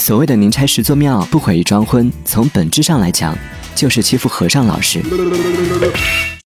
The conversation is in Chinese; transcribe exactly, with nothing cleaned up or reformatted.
所谓的宁拆十座庙，不毁一桩婚，从本质上来讲，就是欺负和尚老实。